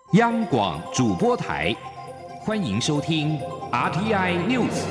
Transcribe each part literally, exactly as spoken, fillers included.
央广主播台，欢迎收听 R T I News。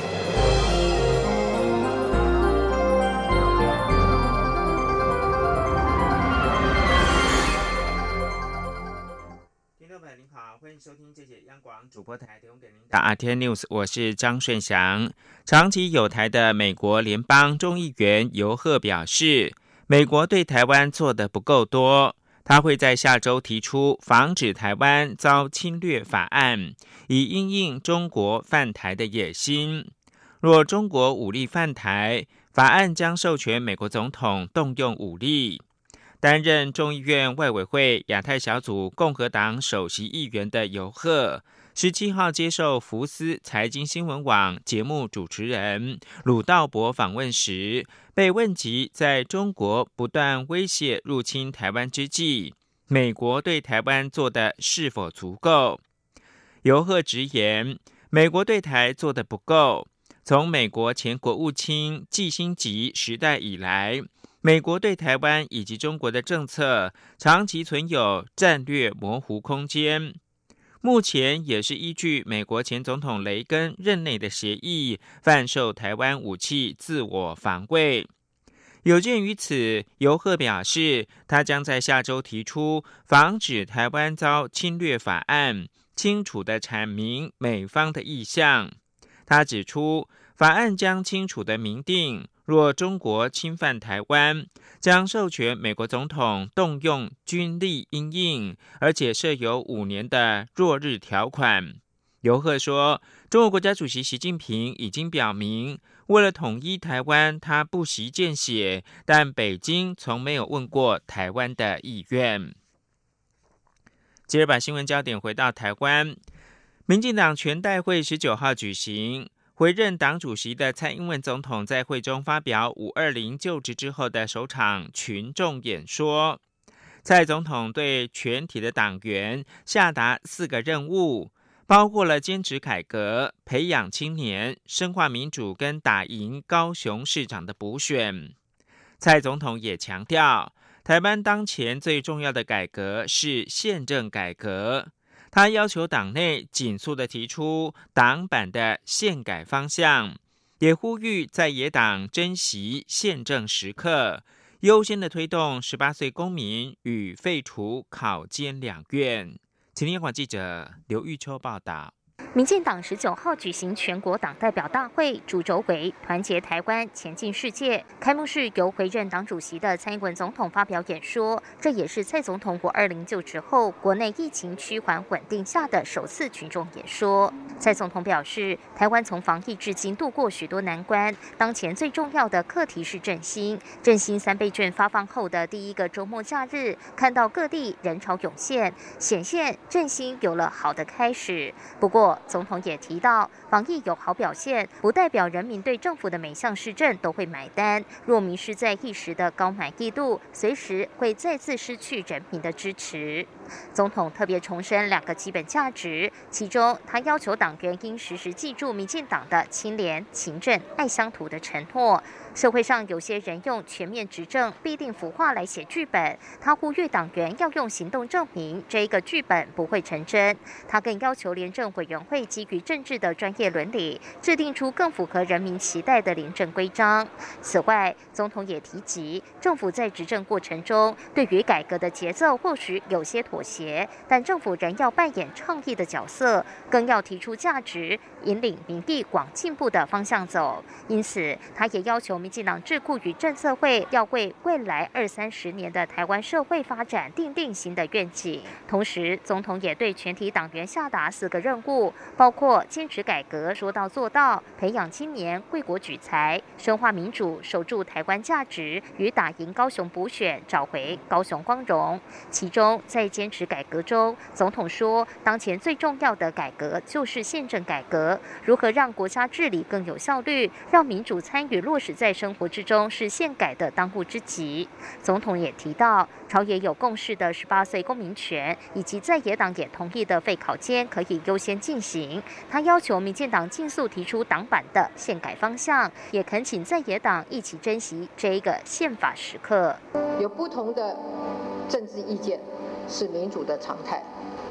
听众朋友您好，欢迎收听这节央广主播台提供给您的 R T I News， 我是张顺祥。长期友台的美国联邦众议员尤赫表示，美国对台湾做得不够多。他会在下周提出防止台湾遭侵略法案，以因应中国犯台的野心。若中国武力犯台，法案将授权美国总统动用武力。担任众议院外委会亚太小组共和党首席议员的尤赫，十七号接受福斯财经新闻网节目主持人鲁道博访问时，被问及在中国不断威胁入侵台湾之际，美国对台湾做的是否足够？尤赫直言，美国对台做的不够。从美国前国务卿季辛吉时代以来，美国对台湾以及中国的政策长期存有战略模糊空间。目前也是依据美国前总统雷根任内的协议，贩售台湾武器自我防卫。有鉴于此，尤赫表示，他将在下周提出防止台湾遭侵略法案，清楚地阐明美方的意向。他指出，法案将清楚地明定，若中国侵犯台湾，将授权美国总统动用军力因应，而且设有五年的若日条款。尤赫说，中国国家主席习近平已经表明，为了统一台湾，他不惜见血，但北京从没有问过台湾的意愿。接着把新闻焦点回到台湾，民进党全代会十九号举行。回任党主席的蔡英文总统在会中发表五二零就职之后的首场群众演说。蔡总统对全体的党员下达四个任务，包括了坚持改革、培养青年、深化民主跟打赢高雄市长的补选。蔡总统也强调，台湾当前最重要的改革是宪政改革。他要求党内紧速地提出党版的宪改方向，也呼吁在野党珍惜宪政时刻，优先的推动十八岁公民与废除考监两院。请听央广记者刘玉秋报道。 民进党十九号举行全国党代表大会，主轴为团结台湾，前进世界。开幕式由回任党主席的蔡英文总统发表演说，这也是蔡总统五二零就职后国内疫情趋缓稳定下的首次群众演说。蔡总统表示，台湾从防疫至今度过许多难关，当前最重要的课题是振兴。振兴三倍券发放后的第一个周末假日，看到各地人潮涌现，显现振兴有了好的开始。不过，总统也提到，防疫有好表现，不代表人民对政府的每项施政都会买单。若迷失在一时的高满意度，随时会再次失去人民的支持。总统特别重申两个基本价值，其中他要求党员应时时记住民进党的清廉、勤政、爱乡土的承诺。社会上有些人用全面执政必定腐化来写剧本，他呼吁党员要用行动证明这一个剧本不会成真。他更要求廉政委员会基于政治的专业伦理，制定出更符合人民期待的廉政规章。此外，总统也提及，政府在执政过程中对于改革的节奏或许有些妥协，但政府仍要扮演倡议的角色，更要提出价值，引领民意往进步的方向走。因此，他也要求民进党智库与政策会要为未来二三十年的台湾社会发展订定新的愿景。同时，总统也对全体党员下达四个任务，包括坚持改革说到做到，培养青年为国举才，深化民主守住台湾价值，与打赢高雄补选找回高雄光荣。其中在坚持改革中，总统说，当前最重要的改革就是宪政改革，如何让国家治理更有效率，让民主参与落实在生活之中，是宪改的当务之急。总统也提到，朝野有共识的十八岁公民权，以及在野党也同意的废考监可以优先进行。他要求民进党尽速提出党版的宪改方向，也恳请在野党一起珍惜这一个宪法时刻。 有不同的政治意见是民主的常态，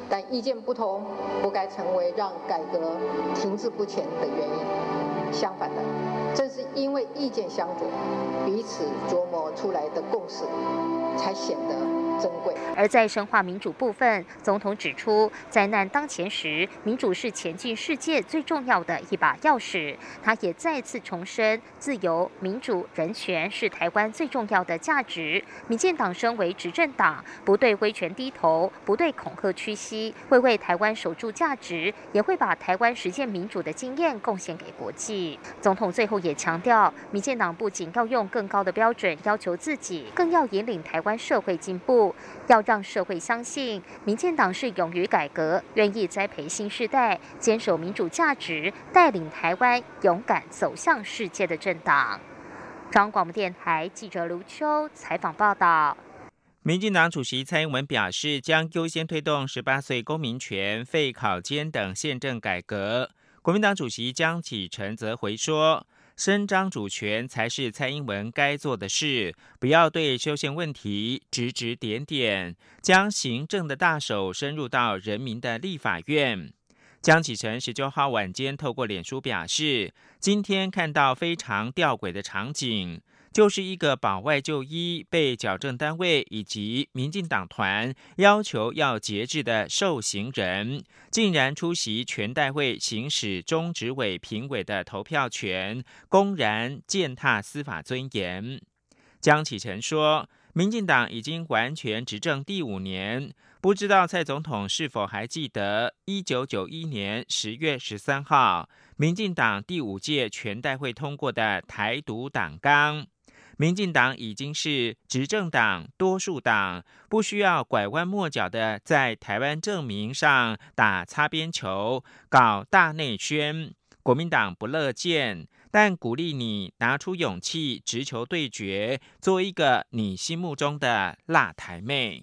但意见不同不该成为让改革停滞不前的原因。相反的，正是因为意见相左，彼此琢磨出来的共识才显得珍贵。 而在深化民主部分，总统指出，灾难当前时，民主是前进世界最重要的一把钥匙。他也再次重申，自由、民主、人权是台湾最重要的价值。民进党身为执政党，不对威权低头，不对恐吓屈膝，会为台湾守住价值，也会把台湾实践民主的经验贡献给国际。总统最后也强调，民进党不仅要用更高的标准要求自己，更要引领台湾社会进步，要让社会相信民进党是勇于改革、愿意栽培新世代、坚守民主价值、带领台湾勇敢走向世界的政党。中央广播电台记者卢秋采访报道。 民进党主席蔡英文表示，将优先推动十八岁公民权、废考监等宪政改革。国民党主席江启臣则回说，伸张主权才是蔡英文该做的事，不要对修宪问题指指点点，将行政的大手深入到人民的立法院。江启臣十九号晚间透过脸书表示，今天看到非常吊诡的场景，就是一个保外就医被矫正单位以及民进党团要求要节制的受刑人，竟然出席全代会行使中执委评委的投票权，公然践踏司法尊严。江启臣说，民进党已经完全执政第五年，不知道蔡总统是否还记得一九九一年十月十三号民进党第五届全代会通过的台独党纲。民进党已经是执政党、多数党，不需要拐弯抹角的在台湾证明上打擦边球、搞大内宣。国民党不乐见，但鼓励你拿出勇气直球对决，做一个你心目中的辣台妹。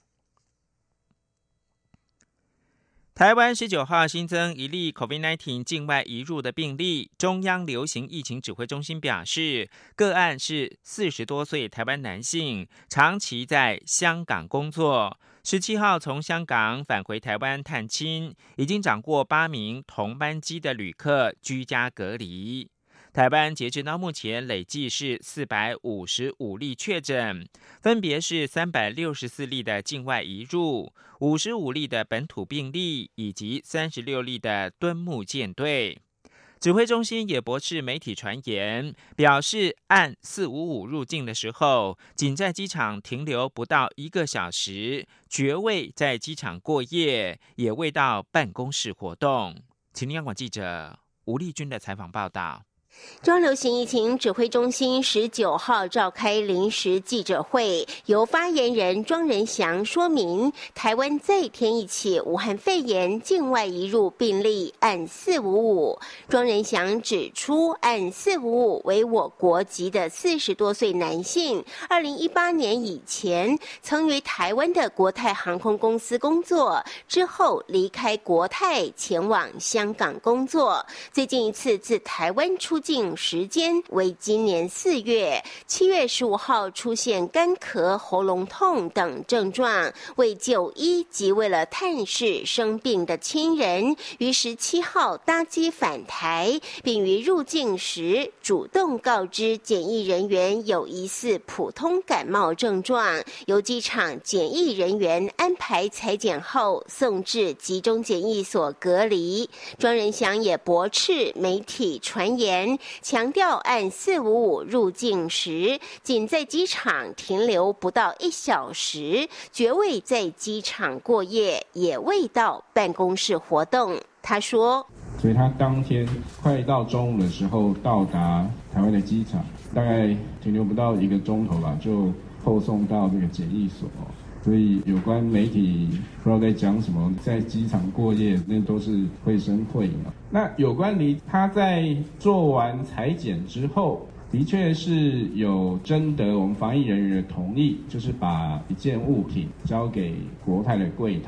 台湾十九号新增一例 COVID 十九 境外移入的病例，中央流行疫情指挥中心表示，个案是四十多岁台湾男性，长期在香港工作，十七号从香港返回台湾探亲，已经掌握八名同班机的旅客居家隔离。台湾截至到目前累计是四百五十五例确诊，分别是三百六十四例的境外移入、五十五例的本土病例以及三十六例的敦睦舰队。指挥中心也驳斥媒体传言，表示按四五五入境的时候，仅在机场停留不到一个小时，绝未在机场过夜，也未到办公室活动。请听央广记者吴丽君的采访报道。 中央流行疫情指挥中心十九号召开临时记者会，由发言人庄仁祥说明，台湾再添一起武汉肺炎境外移入病例，按四五五。庄仁祥指出，按四五五为我国籍的四十多岁男性，二零一八年以前曾于台湾的国泰航空公司工作，之后离开国泰前往香港工作，最近一次自台湾出境时间为今年四月，七月十五号出现干咳、喉咙痛等症状，为就医及为了探视生病的亲人，于十七号搭机返台，并于入境时主动告知检疫人员有疑似普通感冒症状，由机场检疫人员安排采检后送至集中检疫所隔离。庄仁祥也驳斥媒体传言，强调按四五五入境时，仅在机场停留不到一小时，绝未在机场过夜，也未到办公室活动。他说， 所以他当天快到中午的时候到达台湾的机场，大概停留不到一个钟头吧，就后送到这个检疫所。所以有关媒体不知道在讲什么，在机场过夜，那都是绘声绘影。那有关于他在做完采检之后，的确是有征得我们防疫人员的同意，就是把一件物品交给国泰的柜台，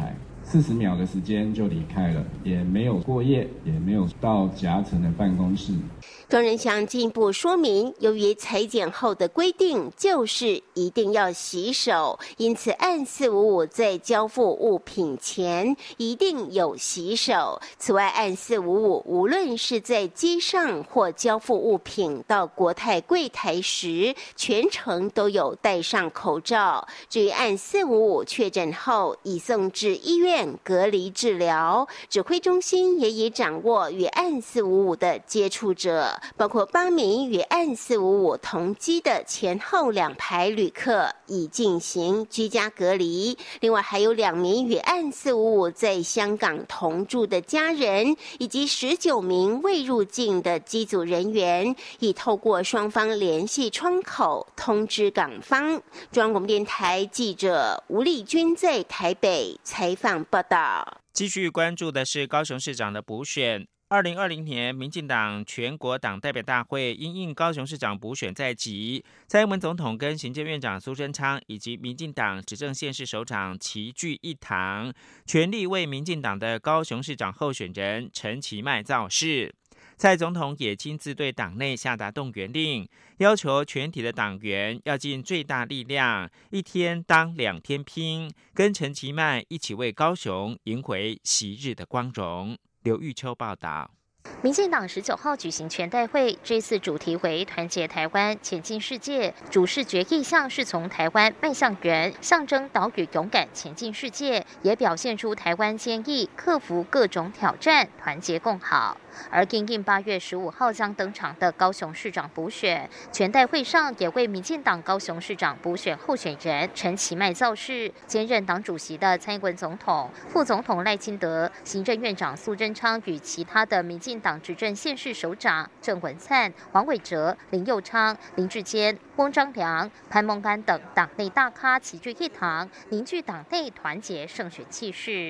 四十秒的时间就离开了，也没有过夜，也没有到夹层的办公室。 庄仁祥进一步说明，由于裁剪后的规定就是一定要洗手，因此按四五五在交付物品前一定有洗手。此外，按四五五无论是在机上或交付物品到国泰柜台时，全程都有戴上口罩。至于按四五五确诊后已送至医院隔离治疗，指挥中心也已掌握与按四五五的接触者。包括八名与案四五五同机的前后两排旅客已进行居家隔离，另外还有两名与案四五五在香港同住的家人，以及十九名未入境的机组人员，已透过双方联系窗口通知港方。中央广播电台记者吴丽君在台北采访报道。 继续关注的是高雄市长的补选。二零二零年，民进党全国党代表大会因应高雄市长补选在即，蔡英文总统跟行政院长苏贞昌以及民进党执政县市首长齐聚一堂，全力为民进党的高雄市长候选人陈其迈造势。蔡总统也亲自对党内下达动员令，要求全体的党员要尽最大力量，一天当两天拼，跟陈其迈一起为高雄赢回昔日的光荣。刘玉秋报道。 民进党十九号举行全代会，这次主题为团结台湾，前进世界。主视觉意向是从台湾迈向圆，象征岛屿勇敢前进世界，也表现出台湾坚毅克服各种挑战，团结共好。而因应八月十五号将登场的高雄市长补选，全代会上也为民进党高雄市长补选候选人陈其迈造势。兼任党主席的蔡英文总统、副总统赖清德、行政院长苏贞昌与其他的民进党执政县市首长郑文灿、黄伟哲、林右昌、林志坚、翁章良、潘孟安等党内大咖齐聚一堂，凝聚党内团结胜选气势。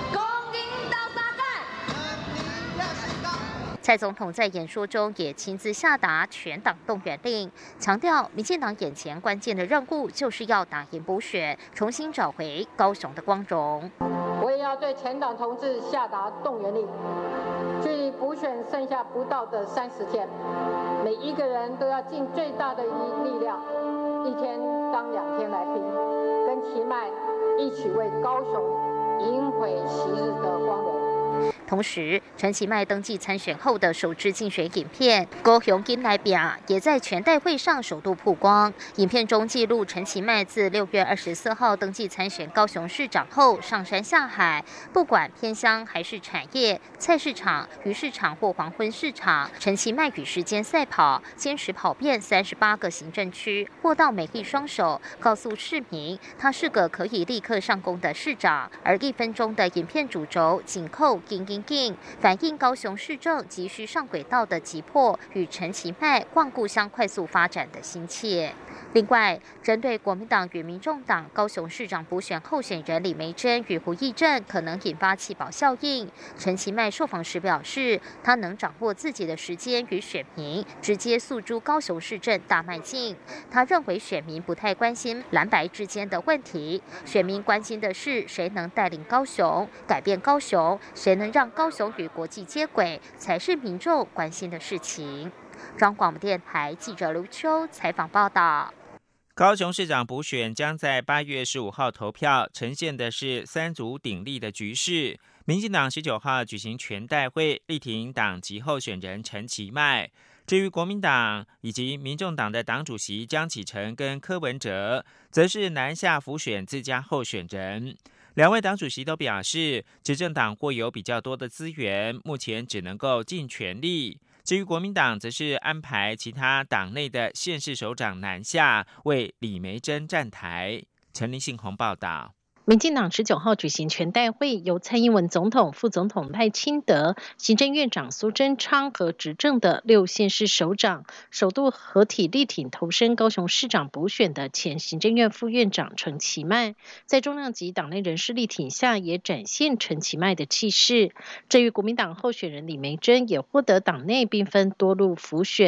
蔡总统在演说中也亲自下达全党动员令，强调民进党眼前关键的任务就是要打赢补选，重新找回高雄的光荣。 我也要对全党同志下达动员令，距离补选剩下不到的三十天，每一个人都要尽最大的力量，一天当两天来拼，跟其迈一起为高雄赢回昔日的光荣。 同时，陈其迈登记参选后的首支竞选影片《高雄金来饼》也在全代会上首度曝光。影片中记录陈其迈自六月二十四号登记参选高雄市长后上山下海，不管偏乡还是产业、菜市场、鱼市场或黄昏市场，陈其迈与时间赛跑，坚持跑遍三十八个行政区，握到美丽双手，告诉市民他是个可以立刻上工的市长。而一分钟的影片主轴紧扣金金金，反映高雄市政急需上轨道的急迫与陈其迈望故乡快速发展的心切。另外，针对国民党与民众党高雄市长补选候选人李眉蓁与胡奕正可能引发弃保效应，陈其迈受访时表示，他能掌握自己的时间与选民，直接诉诸高雄市政大迈进。他认为选民不太关心蓝白之间的问题，选民关心的是谁能带领高雄改变高雄，谁能让高雄与国际接轨，才是民众关心的事情。中央广播电台记者刘秋采访报道。 高雄市长补选将在八月十五号投票，呈现的是三足鼎立的局势。民进党十九号举行全代会，力挺党籍候选人陈其迈。至于国民党以及民众党的党主席江启臣跟柯文哲，则是南下辅选自家候选人。两位党主席都表示，执政党或有比较多的资源，目前只能够尽全力。至于国民党，则是安排其他党内的县市首长南下为李眉蓁站台。陈林信宏报道。 民进党十九号举行全代会，由蔡英文总统、副总统赖清德、行政院长苏贞昌和执政的六县市首长首度合体力挺投身高雄市长补选的前行政院副院长陈其迈，在重量级党内人士力挺下，也展现陈其迈的气势。至于国民党候选人李眉蓁，也获得党内兵分多路辅选，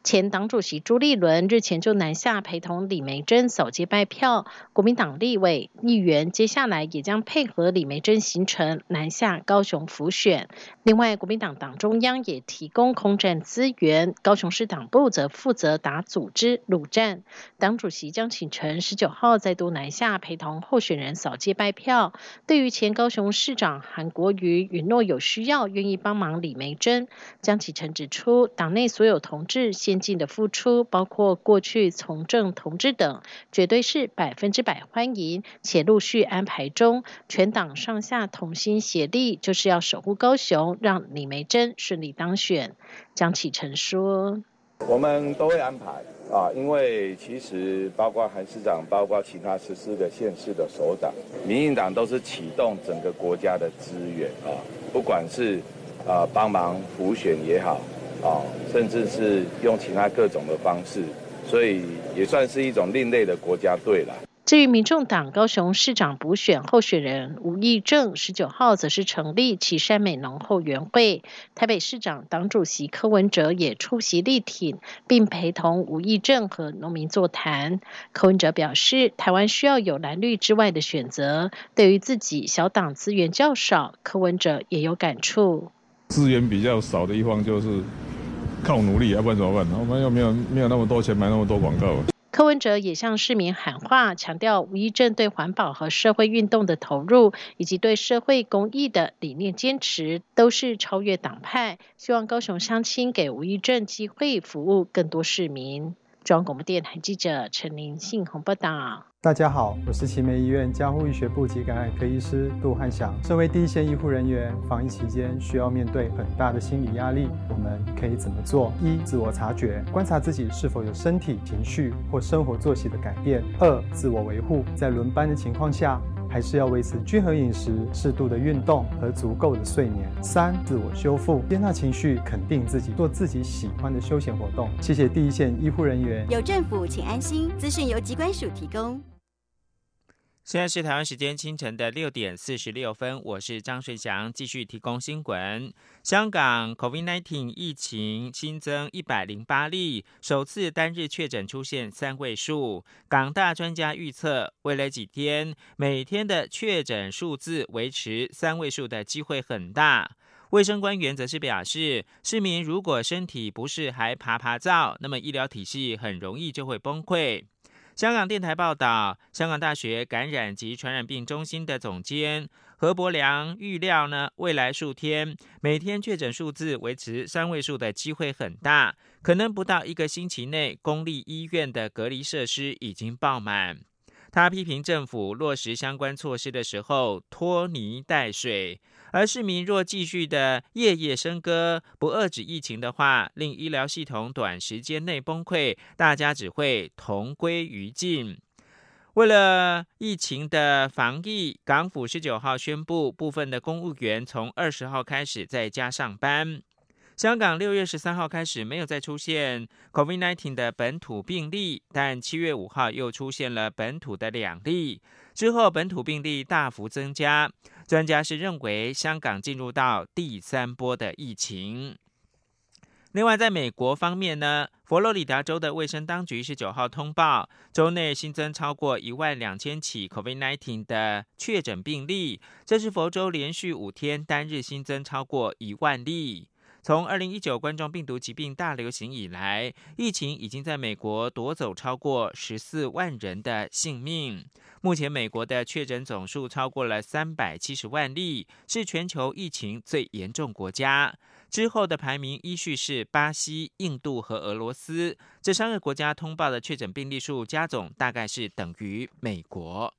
前党主席朱立伦日前就南下陪同李眉蓁扫街拜票，国民党立委议员接下来也将配合李眉蓁行程南下高雄辅选。另外，国民党党中央也提供空战资源，高雄市党部则负责打组织陆战。党主席江启臣十九号再度南下陪同候选人扫街拜票。对于前高雄市长韩国瑜允诺有需要愿意帮忙李眉蓁，江启臣指出，党内所有同志先进的付出，包括过去从政同志等，绝对是百分之百欢迎，且陆续安排中。全党上下同心协力，就是要守护高雄，让李眉蓁顺利当选。江启臣说：“ 我们都会安排啊，因为其实包括韩市长，包括其他十四个县市的首长，民进党都是启动整个国家的资源啊，不管是啊帮忙辅选也好。”啊，甚至是用其他各种的方式，所以也算是一种另类的国家队了。 至于民众党高雄市长补选候选人吴益政，十九号则是成立旗山美浓后援会。台北市长党主席柯文哲也出席力挺，并陪同吴益政和农民座谈。柯文哲表示，台湾需要有蓝绿之外的选择，对于自己小党资源较少，柯文哲也有感触。 资源比较少的一方就是靠努力，要不然怎么办？我们又没有没有那么多钱买那么多广告。 柯文哲也向市民喊话，强调吴益政对环保和社会运动的投入，以及对社会公益的理念坚持，都是超越党派。希望高雄乡亲给吴益政机会，服务更多市民。中央广播电台记者陈林信宏报道。 大家好，我是奇美医院加护医学部及感染科医师杜汉祥。身为第一线医护人员，防疫期间需要面对很大的心理压力，我们可以怎么做？一、自我察觉，观察自己是否有身体、情绪或生活作息的改变。二、自我维护，在轮班的情况下，还是要维持均衡饮食、适度的运动和足够的睡眠。三、自我修复，接纳情绪，肯定自己，做自己喜欢的休闲活动。谢谢第一线医护人员。 有政府，请安心。资讯由疾管署提供。 现在是台湾时间清晨的六点四十六分，我是张顺祥，继续提供新闻。香港 COVID 十九 疫情新增一百零八例，首次单日确诊出现三位数。港大专家预测，未来几天每天的确诊数字维持三位数的机会很大。卫生官员则是表示，市民如果身体不适还爬爬灶，那么医疗体系很容易就会崩溃。香港电台报道，香港大学感染及传染病中心的总监何伯良预料呢，未来数天每天确诊数字维持三位数的机会很大，可能不到一个星期内，公立医院的隔离设施已经爆满。他批评政府落实相关措施的时候拖泥带水，而市民若继续的夜夜笙歌，不遏止疫情的话，令医疗系统短时间内崩溃，大家只会同归于尽。为了疫情的防疫，港府十九号宣布，部分的公务员从二十号开始在家上班。香港六月十三号开始没有再出现 COVID 十九 的本土病例，但七月五号又出现了本土的两例，之后本土病例大幅增加。专家是认为香港进入到第三波的疫情。另外，在美国方面呢，佛罗里达州的卫生当局十九号通报，州内新增超过一万两千起 COVID 十九 的确诊病例，这是佛州连续五天单日新增超过一万例。从二零一九冠状病毒疾病大流行以来，疫情已经在美国夺走超过十四万人的性命。目前美国的确诊总数超过了三百七十万例，是全球疫情最严重国家。之后的排名依序是巴西、印度和俄罗斯，这三个国家通报的确诊病例数加总大概是等于美国。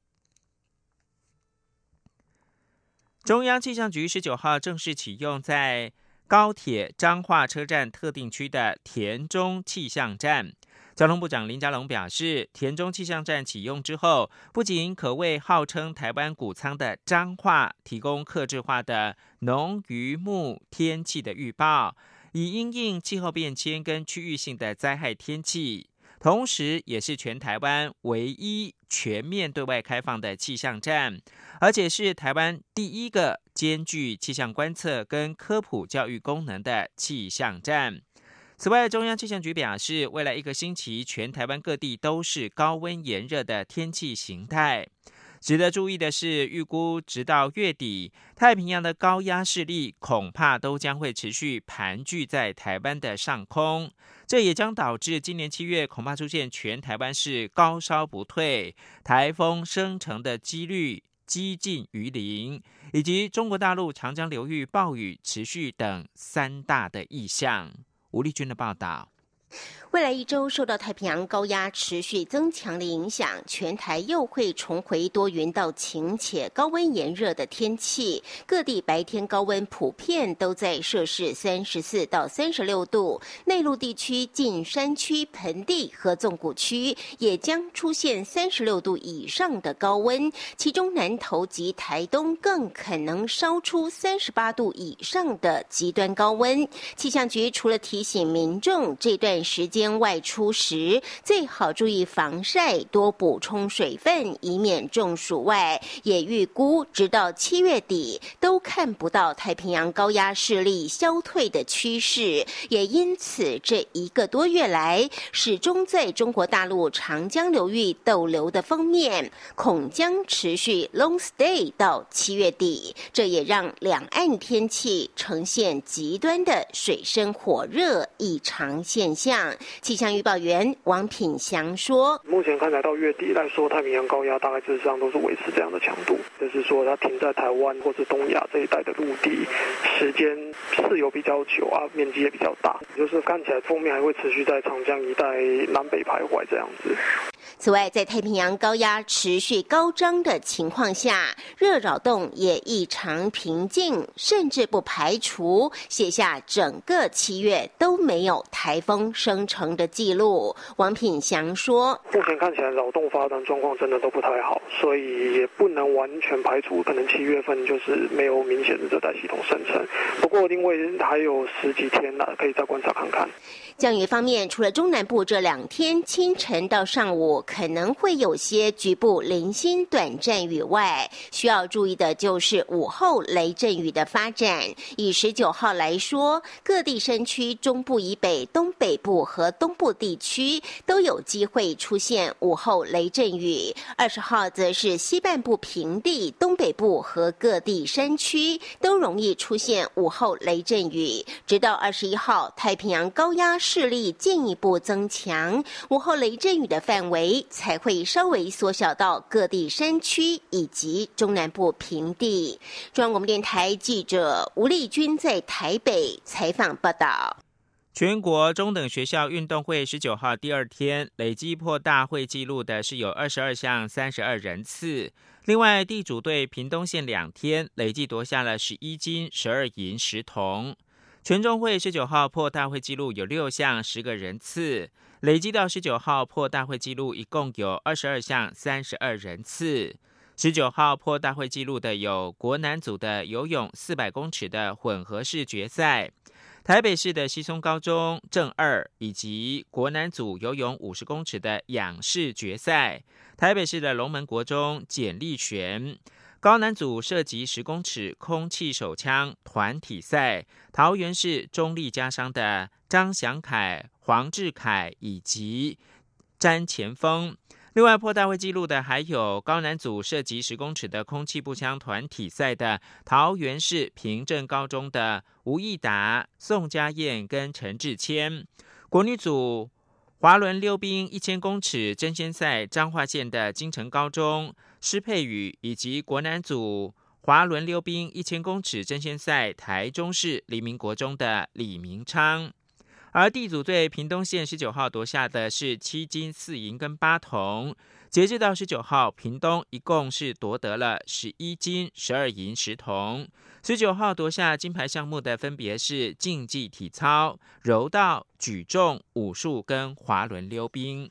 中央气象局十九号正式启用在高铁彰化车站特定区的田中气象站。交通部长林佳龙表示，田中气象站启用之后，不仅可为号称台湾谷仓的彰化提供客制化的农渔牧天气的预报，以因应气候变迁跟区域性的灾害天气，同时也是全台湾唯一全面对外开放的气象站，而且是台湾第一个兼具气象观测跟科普教育功能的气象站。 此外，中央气象局表示，未来一个星期，全台湾各地都是高温炎热的天气形态。值得注意的是，预估直到月底，太平洋的高压势力恐怕都将会持续盘踞在台湾的上空，这也将导致今年七月恐怕出现全台湾是高烧不退、台风生成的几率几近于零，以及中国大陆长江流域暴雨持续等三大的意象。吴丽君的报道。 未来一周受到太平洋高压持续增强的影响，全台又会重回多云到晴且高温炎热的天气。各地白天高温普遍都在摄氏三十四到三十六度，内陆地区近山区、盆地和纵谷区也将出现三十六度以上的高温，其中南投及台东更可能烧出三十八度以上的极端高温。气象局除了提醒民众这段时间外出时最好注意防晒，多补充水分，以免中暑外，也预估直到七月底都看不到太平洋高压势力消退的趋势，也因此这一个多月来始终在中国大陆长江流域逗留的锋面恐将持续 long stay 到七月底，这也让两岸天气呈现极端的水深火热异常现象。气象预报员王品祥说， 目前看来到月底来说，太平洋高压大概事实上都是维持这样的强度，就是说它停在台湾或是东亚这一带的陆地时间是有比较久啊，面积也比较大，就是看起来锋面还会持续在长江一带南北徘徊这样子。 此外，在太平洋高压持续高涨的情况下，热扰动也异常平静，甚至不排除写下整个七月都没有台风生成的记录。王品祥说， 目前看起来扰动发展状况真的都不太好，所以也不能完全排除可能七月份就是没有明显的热带系统生成，不过因为还有十几天了，可以再观察看看。 降雨方面，除了中南部这两天清晨到上午可能会有些局部零星短暂雨外，需要注意的就是午后雷阵雨的发展。以十九号来说，各地山区中部以北、东北部和东部地区都有机会出现午后雷阵雨。二十号则是西半部平地、东北部和各地山区都容易出现午后雷阵雨。直到二十一号，太平洋高压势力进一步增强，午后雷阵雨的范围才会稍微缩小到各地山区以及中南部平地。中央广播电台记者吴丽君在台北采访报道。 全国中等学校运动会十九号第二天累计破大会纪录的是有二十二项三十二人次，另外地主队屏东县两天累计夺下了十一金十二银十铜。全中会十九号破大会纪录有六项十个人次，累计到十九号破大会纪录一共有二十二项三十二人次。十九号破大会纪录的有国男组的游泳四百公尺的混合式决赛，台北市的西松高中正二，以及国男组游泳五十公尺的仰式决赛，台北市的龙门国中简立璇。高男组射击十公尺空气手枪团体赛，桃园市中立家商的张祥凯、黄志凯以及詹前锋。另外破大会纪录的还有高男组射击十公尺的空气步枪团体赛的桃园市平镇高中的吴义达、宋家燕跟陈志谦。国女组滑轮溜冰一千公尺争先赛彰化县的金城高中施佩宇，以及国男组滑轮溜冰一千公尺争先赛台中市黎明国中的李明昌。而地主队屏东县十九号夺下的是七金四银跟八铜，截至到十九号，屏东一共是夺得了十一金十二银十铜。十九号夺下金牌项目的分别是竞技体操、柔道、举重、武术跟滑轮溜冰。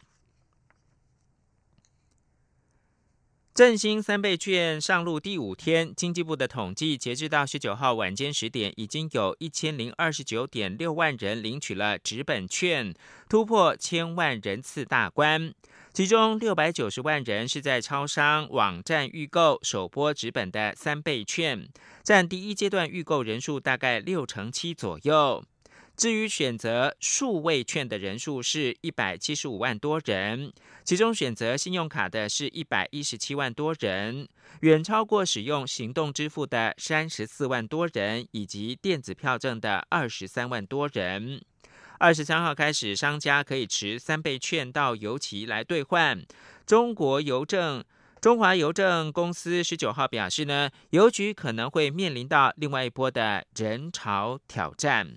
振兴三倍券上路第五天，经济部的统计，截至到十九号晚间十点，已经有一千零二十九点六万人领取了纸本券，突破千万人次大关。其中六百九十万人是在超商网站预购首波纸本的三倍券，占第一阶段预购人数大概六成七左右。 至于选择数位券的人数是一百七十五万多人，其中选择信用卡的是一百一十七万多人，远超过使用行动支付的三十四万多人，以及电子票证的二十三万多人。二十三号开始，商家可以持三倍券到邮期来兑换。中国邮政中华邮政公司十九号表示呢，邮局可能会面临到另外一波的人潮挑战。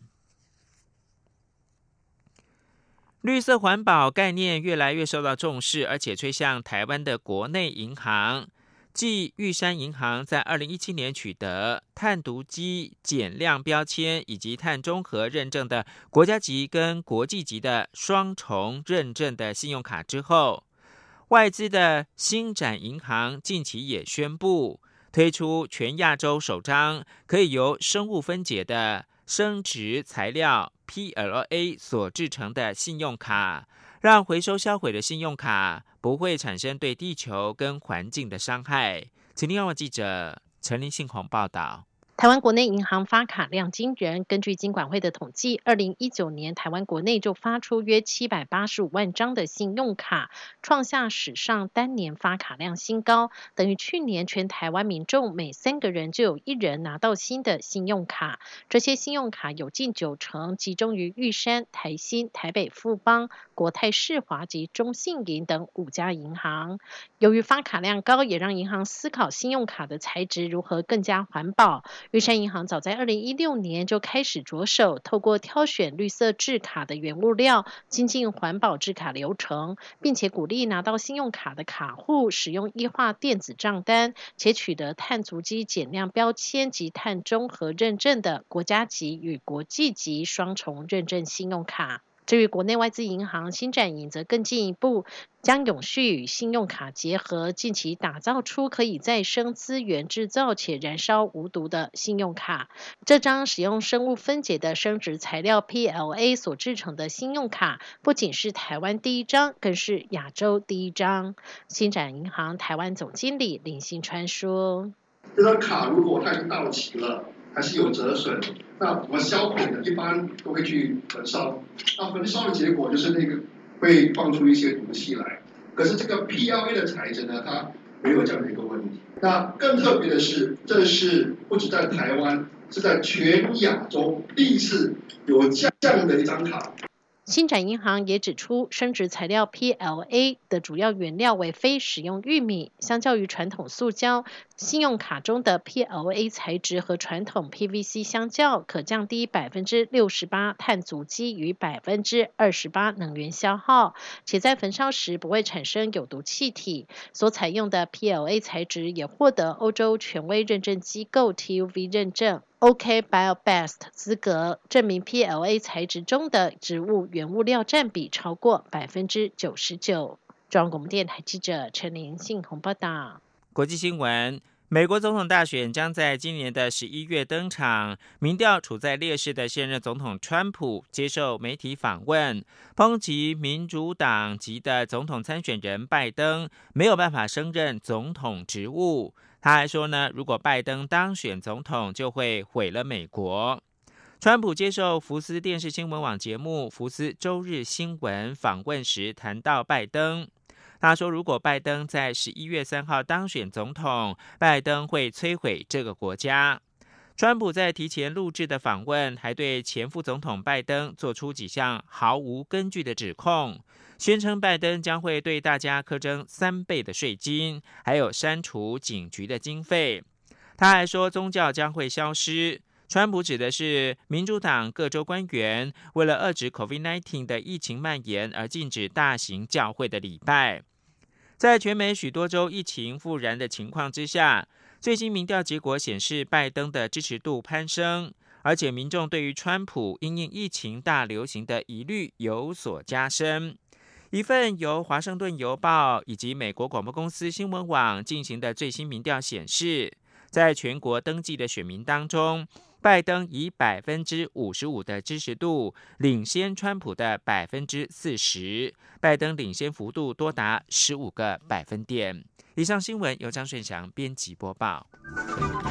绿色环保概念越来越受到重视，而且吹向台湾的国内银行。继玉山银行在二零一七年取得碳足迹减量标签以及碳中和认证的国家级跟国际级的双重认证的信用卡之后，外资的星展银行近期也宣布推出全亚洲首张可以由生物分解的生质材料 P L A 所制成的信用卡，让回收销毁的信用卡不会产生对地球跟环境的伤害。请听记者陈林信宏报道。 台湾国内银行发卡量惊人，根据金管会的统计，二零一九年台湾国内就发出约七百八十五万张的信用卡，创下史上单年发卡量新高，等于去年全台湾民众每三个人就有一人拿到新的信用卡。这些信用卡有近九成集中于玉山、台新、台北富邦、国泰世华及中信银等五家银行。由于发卡量高，也让银行思考信用卡的材质如何更加环保。玉山银行早在二零一六年就开始着手透过挑选绿色制卡的原物料，精进环保制卡流程，并且鼓励拿到信用卡的卡户使用液化电子账单，且取得碳足迹减量标签及碳中和认证的国家级与国际级双重认证信用卡。至于国内外资银行星展银则更进一步，将永续与信用卡结合，近期打造出可以再生资源制造且燃烧无毒的信用卡。这张使用生物分解的生质材料 P L A 所制成的信用卡，不仅是台湾第一张，更是亚洲第一张。星展银行台湾总经理林信川说：“ 这张卡如果它已经到期了，还是有折损，那我们销毁的一般都会去焚烧，那焚烧的结果就是那个会放出一些毒气来。可是这个 P L A 的材质呢，它没有这样的一个问题。那更特别的是，这是不止在台湾，是在全亚洲第一次有这样的一张卡。” 星展银行也指出，生质材料 P L A 的主要原料为非食用玉米，相较于传统塑胶，信用卡中的 P L A 材质和传统 P V C 相较，可降低 百分之六十八 碳足迹与 百分之二十八 能源消耗，且在焚烧时不会产生有毒气体。所采用的 P L A 材质也获得欧洲权威认证机构 T U V 认证。OK BioBest 资格，证明 P L A 材质中的植物原物料占比超过 百分之九十九。 中央广播电台记者陈林信宏报道。 国际新闻，美国总统大选将在今年的十一月登场。民调处在劣势的现任总统川普接受媒体访问，抨击民主党籍的总统参选人拜登没有办法胜任总统职务。他还说呢，如果拜登当选总统，就会毁了美国。川普接受福斯电视新闻网节目《福斯周日新闻》访问时谈到拜登，他说，如果拜登在十一月三号当选总统，拜登会摧毁这个国家。川普在提前录制的访问还对前副总统拜登做出几项毫无根据的指控，宣称拜登将会对大家课征三倍的税金，还有删除警局的经费。他还说宗教将会消失。川普指的是民主党各州官员为了遏制 COVID 十九 的疫情蔓延而禁止大型教会的礼拜。在全美许多州疫情复燃的情况之下，最新民调结果显示拜登的支持度攀升，而且民众对于川普因应疫情大流行的疑虑有所加深。一份由华盛顿邮报以及美国广播公司新闻网进行的最新民调显示，在全国登记的选民当中，拜登以 百分之五十五 的支持度领先川普的 百分之四十， 拜登领先幅度多达十五个百分点。以上新闻由张顺祥编辑播报。